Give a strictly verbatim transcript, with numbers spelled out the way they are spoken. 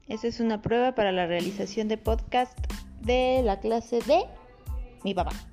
Esa es una prueba para la realización de podcast de la clase de mi papá.